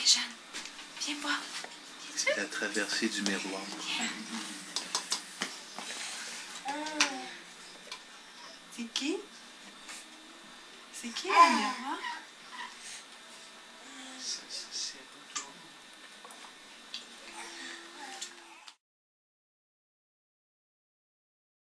Jeanne, viens voir. C'est la traversée du miroir. C'est qui? C'est qui le miroir?